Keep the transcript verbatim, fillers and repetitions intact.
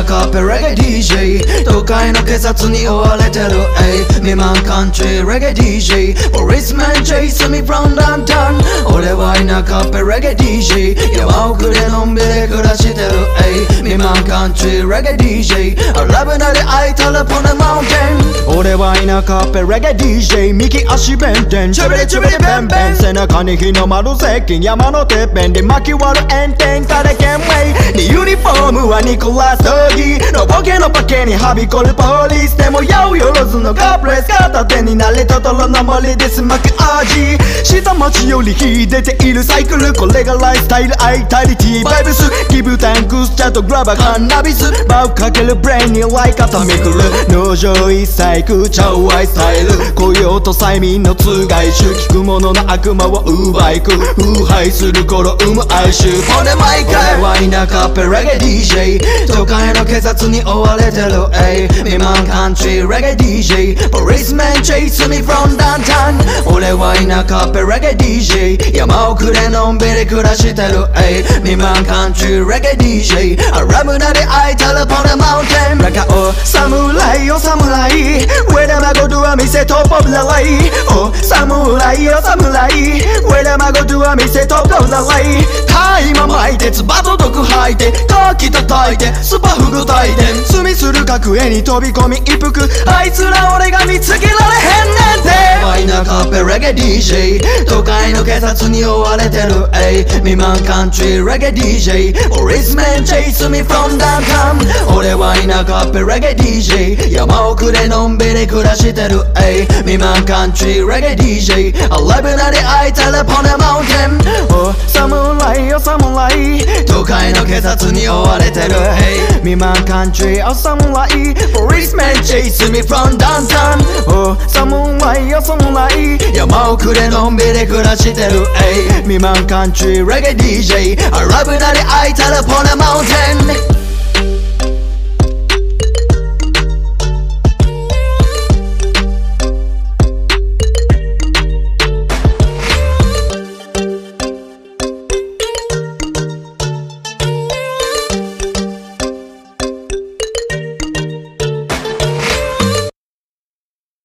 カッペレゲエ ディージェー 都会の警察に追われてる未満カントリーレゲエ ディージェー Policeman chase me from downtown 俺は田舎ペレゲエ ディージェー 山奥でのんびり暮らしてる未満カントリーレゲエ ディージェー ラブなり会いたらポネマウンテン俺は田舎ペレゲエ ディージェー 右足弁天ちょびりちょびりベンベン背中に日の丸接近山のてっぺんで巻き割る炎天下でケンウェイユニフォームはニコラス・ドーギーのボケのパケにはびこるポリスでもよよろずのガープレス片手になれトトロの森でスマック味下町より秀でているサイクルこれがライフスタイルアイタリティバイブスギブタンクスチャとグラバーカンナビスバウかけるブレインにライカタミクル農場一切空調アイスタイル雇用と催眠のつがい種聞く者の悪魔を奪いく腐敗する頃生む哀愁ほんで毎回俺は田舎ペレゲエ ディージェー 都会の警察に追われてる未満カントリーレゲエ ディージェー Policeman chase me from downtown 俺は田舎ペレゲエ ディージェー 山奥でのんびり暮らしてる未満カントリーレゲエ ディージェー アラブナで会いたらポネマウンテン中を侍よ侍上田孫ドア店トップオブザライお侍よ侍上田孫ドア店トップオブザライ大麻巻いてつばと毒吐いてカキ叩いてスパフグ炊いて罪する角へに飛び込み一服あいつら俺が見つけられへんねんて田舎ペレゲエ ディージェー 都会の警察に追われてる未満カントリーレゲエ ディージェー Policeman chase me from downtown 俺は田舎ペレゲエ ディージェー 山奥でのんびり暮らしてる未満カントリーレゲエ ディージェー ラブなり会いたらポネマウンテンお侍よ侍都会の警察に追われてる未満カントリーお侍 Policeman chase me from downtown お侍よ侍山奥でのんびり暮らしてる未満カントリーレゲエ ディージェー ラブなり会いたらポネマウンテン